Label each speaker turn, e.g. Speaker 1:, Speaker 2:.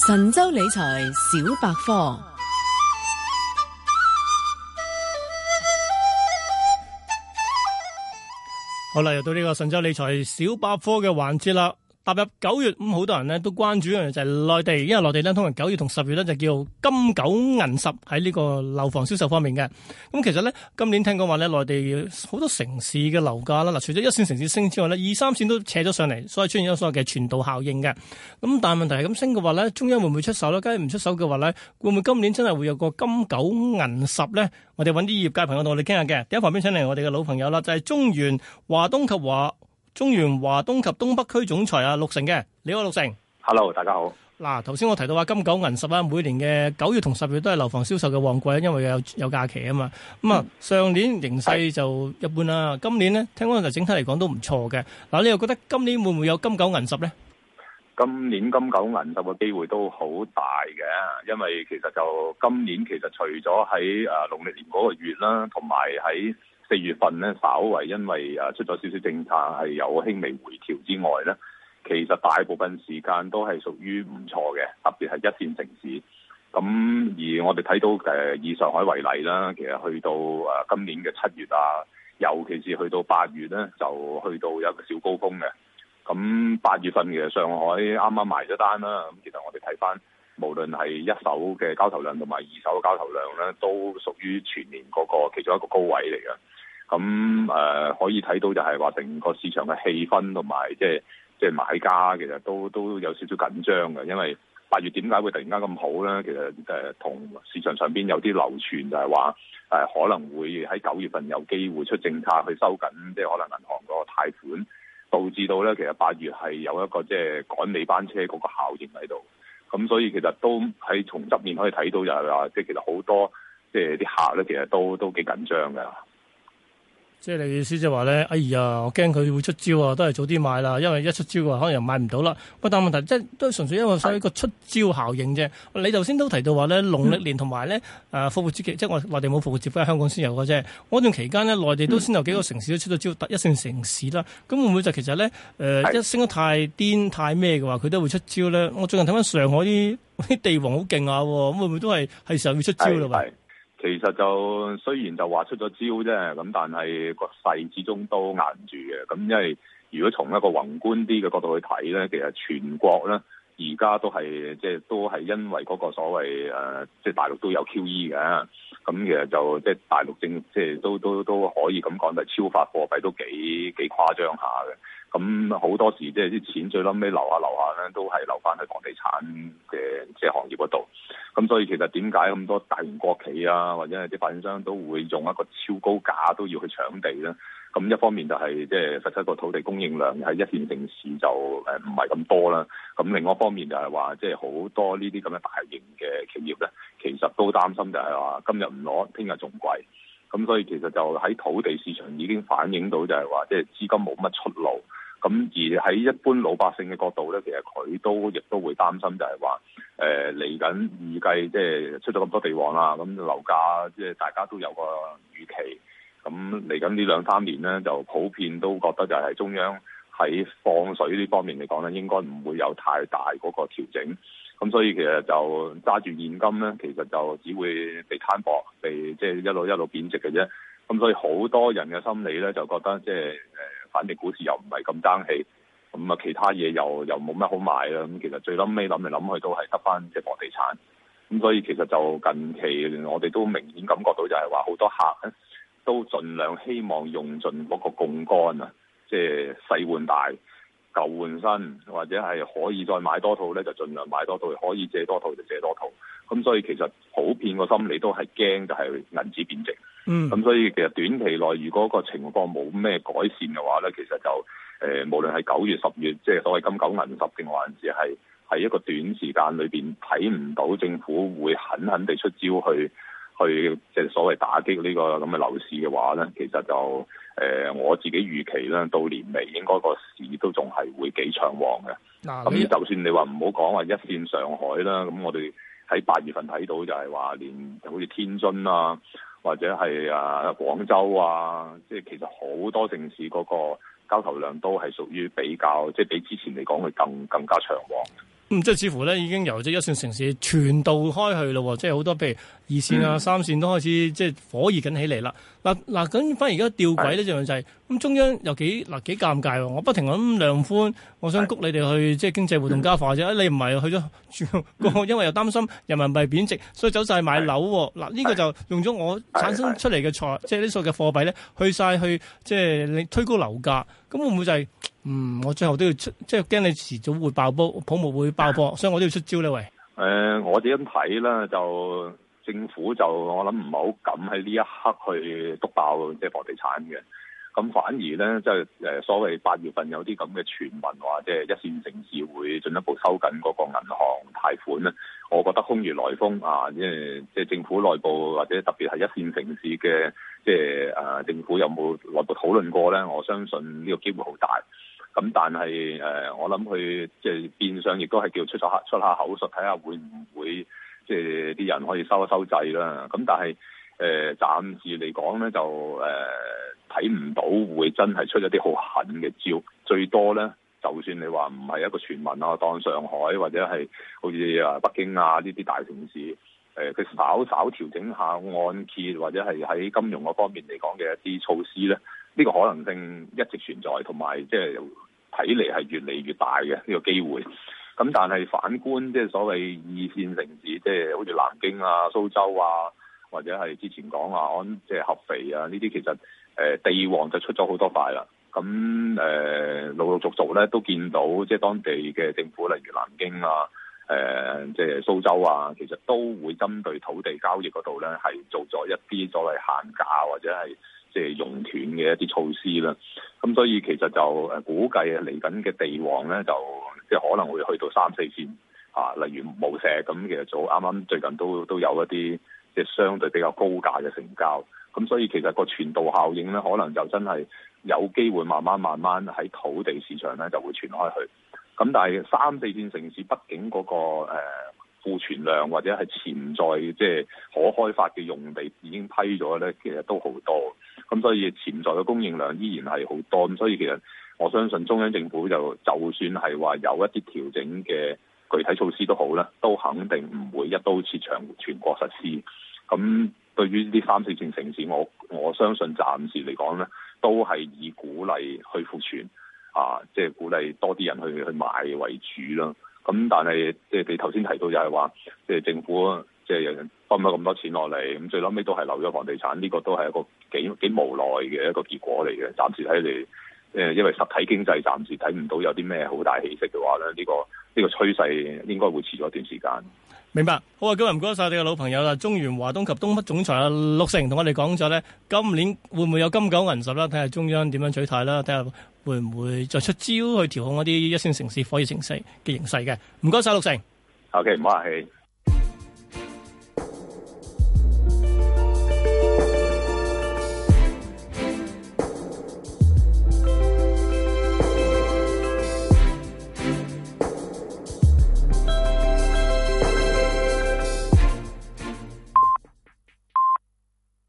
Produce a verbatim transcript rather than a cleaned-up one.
Speaker 1: 神州理財小百科。
Speaker 2: 好啦，又到呢個神州理財小百科嘅環節啦。踏入九月，咁好多人咧都關注一樣嘢就係內地，因為內地咧通常九月同十月咧就叫金九銀十喺呢個樓房銷售方面嘅。咁其實咧今年聽講話咧內地好多城市嘅樓價啦，嗱除咗一線城市升之外咧，二三線都扯咗上嚟，所以出現咗所謂嘅傳導效應嘅。咁但係問題係咁升嘅話咧，中央會唔會出手咧？假如唔出手嘅話咧，會唔會今年真係會有個金九銀十咧？我哋揾啲業界朋友同我哋傾下嘅。第一旁邊請嚟我哋嘅老朋友啦，就係中原華東及華。中原華東及東北區總裁啊，陸成嘅，你好，陸成。
Speaker 3: Hello， 大家好。
Speaker 2: 嗱，頭先我提到話金九銀十啦，每年嘅九月同十月都係樓房銷售嘅旺季，因為有有假期啊嘛。咁啊、嗯，上年形勢就一般啦，今年咧聽講就整體嚟講都唔錯嘅。嗱，你又覺得今年會唔會有金九銀十咧？
Speaker 3: 今年金九銀十嘅機會都好大嘅，因為其實就今年其實除咗喺誒農曆年嗰個月啦，同埋喺四月份咧，稍為因為誒出咗少少政策係有輕微回調之外咧，其實大部分時間都係屬於唔錯嘅，特別係一線城市。咁而我哋睇到誒以上海為例啦，其實去到誒今年嘅七月啊，尤其是去到八月咧，就去到有一個小高峰嘅。咁八月份其實上海啱啱埋咗單啦，咁其實我哋睇翻，無論係一手嘅交投量同埋二手嘅交投量咧，都屬於全年嗰個其中一個高位嚟嘅。咁誒、呃、可以睇到就係話成個市場嘅氣氛同埋即係即係買家其實都都有少少緊張嘅，因為八月點解會突然間咁好咧？其實誒同、呃、市場上邊有啲流傳就係話誒可能會喺九月份有機會出政策去收緊，即係可能銀行嗰個貸款，導致到咧其實八月係有一個即係趕尾班車嗰個效應喺度。咁所以其實都喺從側面可以睇到就係話，即係其實好多即係啲客咧，其實都都幾緊張嘅。
Speaker 2: 即係你意思就話咧，哎呀，我驚佢會出招啊，都係早啲買啦，因為一出招啊，可能又買唔到啦。不過但係問題即係都係純粹因為所謂一個出招效應啫。你頭先都提到話咧，農曆年同埋咧誒復活節期，即係我內地冇復活節，不過香港先有嘅啫。嗰段期間咧，內地都先有幾個城市都出咗招，特一線城市啦。咁會唔會就其實咧誒、呃、一升得太癲太咩嘅話，佢都會出招咧？我最近睇翻上海啲啲地王好勁啊，咁會唔會都係係時候要出招啦？喂！
Speaker 3: 其實就雖然就話出咗招啫，咁但係個勢始終都硬住嘅。咁因為如果從一個宏觀啲嘅角度去睇咧，其實全國咧而家都係即係都係因為嗰個所謂誒，即係大陸都有 Q E 嘅。咁其實就即係大陸政即係都都都可以咁講，就係超發貨幣都幾幾誇張下嘅。咁好多時即係啲錢最撚尾留下留下咧，都係留翻去房地產嘅即係行業嗰度。咁所以其實點解咁多大型國企啊，或者係啲發展商都會用一個超高價都要去搶地咧？咁一方面就係即係實質個土地供應量喺一線城市就誒唔係咁多啦。咁另外一方面就係話，即係好多呢啲咁嘅大型嘅企業咧，其實都擔心就係話今日唔攞，聽日仲貴。咁所以其實就喺土地市場已經反映到就係話，即係資金冇乜出路。咁而喺一般老百姓嘅角度咧，其實佢都亦都會擔心就係話，誒嚟緊預計即係出咗咁多地王啦，咁樓價即係大家都有個預期。咁嚟緊呢兩三年咧，就普遍都覺得就係中央喺放水呢方面嚟講咧，應該唔會有太大嗰個調整。咁所以其實就揸住現金咧，其實就只會被攤薄，被即係一路一路貶值嘅啫。咁所以好多人嘅心理咧，就覺得即係誒，反正股市又唔係咁爭氣，咁啊其他嘢又又冇乜好買啦。咁其實最冧尾諗嚟諗去都係得翻即係房地產。咁所以其實就近期我哋都明顯感覺到就係話好多客咧都盡量希望用盡嗰個槓桿啊，即係細換大、舊換新，或者係可以再買多套咧就盡量買多套，可以借多套就借多套。咁所以其實普遍個心理都係驚就係銀紙貶值。嗯，咁所以其實短期內如果個情況冇咩改善嘅話咧，其實就誒、呃、無論係九月、十月，即係所謂金九銀十定還是係係一個短時間裏邊睇唔到政府會狠狠地出招去去即係所謂打擊呢個咁嘅樓市嘅話咧，其實就誒、呃、我自己預期咧，到年尾應該個市都仲係會幾暢旺嘅。嗱，咁就算你話唔好講話一線上海啦，咁我哋喺八月份睇到就係話連好似天津啊，或者係啊廣州啊，即係其實好多城市嗰個交投量都係屬於比較，即係比之前嚟講佢更更加暢旺。
Speaker 2: 嗯、即係似乎咧已經由即係一線城市傳導開去咯，即係好多譬如二線啊、嗯、三線都開始即係火熱緊起嚟啦。嗱嗱咁，反而而家吊詭呢就係、是、咁中央又幾嗱幾尷尬喎。我不停咁量寬，我想谷你哋去即係經濟活動加快啫。你唔係去咗，因為又擔心人民幣貶值，所以走晒買樓。嗱呢、這個就用咗我產生出嚟嘅財，即係呢數嘅貨幣咧，去晒去即係你推高樓價。咁會唔會就係、是、嗯？我最後都要出，即係驚你遲早會爆煲，泡沫會爆破，所以我都要出招呢喂。誒、
Speaker 3: 呃，我哋咁睇啦，就政府就我諗唔係好敢喺呢一刻去督爆即係房地產嘅。咁反而咧，即係誒所謂八月份有啲咁嘅傳聞話，即係一線城市會進一步收緊嗰個銀行貸款咧。我覺得空穴來風啊！即係即係政府內部或者特別係一線城市嘅，即係誒政府有冇內部討論過咧？我相信呢個機會好大。咁但係誒，我諗佢即係變相亦都係叫出下出下口術，睇下會唔會即係啲人可以收一收掣啦。咁但係誒暫時嚟講咧，就誒睇唔到會真係出一啲好狠嘅招，最多咧。就算你話唔係一個傳聞啊，當上海或者係好似啊北京啊呢啲大城市，誒、呃、佢稍稍調整下按揭或者係喺金融嗰方面嚟講嘅一啲措施咧，呢、呢個可能性一直存在，同埋即係睇嚟係越嚟越大嘅呢、呢個機會。咁但係反觀即係所謂二線城市，即係好似南京啊、蘇州啊，或者係之前講話安即係合肥啊呢啲，其實誒、呃、地王就出咗好多塊啦。咁誒、呃、陸陸續續咧都見到，即係當地嘅政府，例如南京啊、誒、呃、即係蘇州啊，其實都會針對土地交易嗰度咧，係做咗一啲所謂限價或者係即係熔斷嘅一啲措施啦。咁所以其實就誒估計嚟緊嘅地王咧，就即係可能會去到三四線啊，例如無錫咁，其實早啱啱最近都都有一啲即係相對比較高價嘅成交。咁所以其實個傳導效應咧，可能就真係有機會慢慢慢慢喺土地市場咧就會傳開去。咁但係三四線城市畢竟嗰、那個誒庫存量或者係潛在即係可開發嘅用地已經批咗咧，其實都好多。咁所以潛在嘅供應量依然係好多。咁所以其實我相信中央政府就就算係話有一啲調整嘅具體措施都好啦，都肯定唔會一刀切全全國實施。咁對於呢啲三四線城市，我我相信暫時嚟講咧，都係以鼓勵去庫存啊，即係鼓勵多啲人去去買為主啦。咁但係即係你頭先提到就係話，即係政府即係分咗咁多錢落嚟，咁最後尾都係留咗房地產，呢個都係一個幾幾無奈嘅一個結果嚟嘅。暫時睇嚟，誒因為實體經濟暫時睇唔到有啲咩好大起色嘅話咧，呢個呢個趨勢應該會持咗一段時間。
Speaker 2: 明白，好啊！今日唔該晒你嘅老朋友啦，中原華東及東北總裁啊陸成同我哋講咗咧，今年會唔會有金九銀十啦？睇下中央點樣取態啦，睇下會唔會再出招去調控一啲一線城市、火熱城市嘅形勢嘅。唔該晒陸成。
Speaker 3: O K，唔好客氣。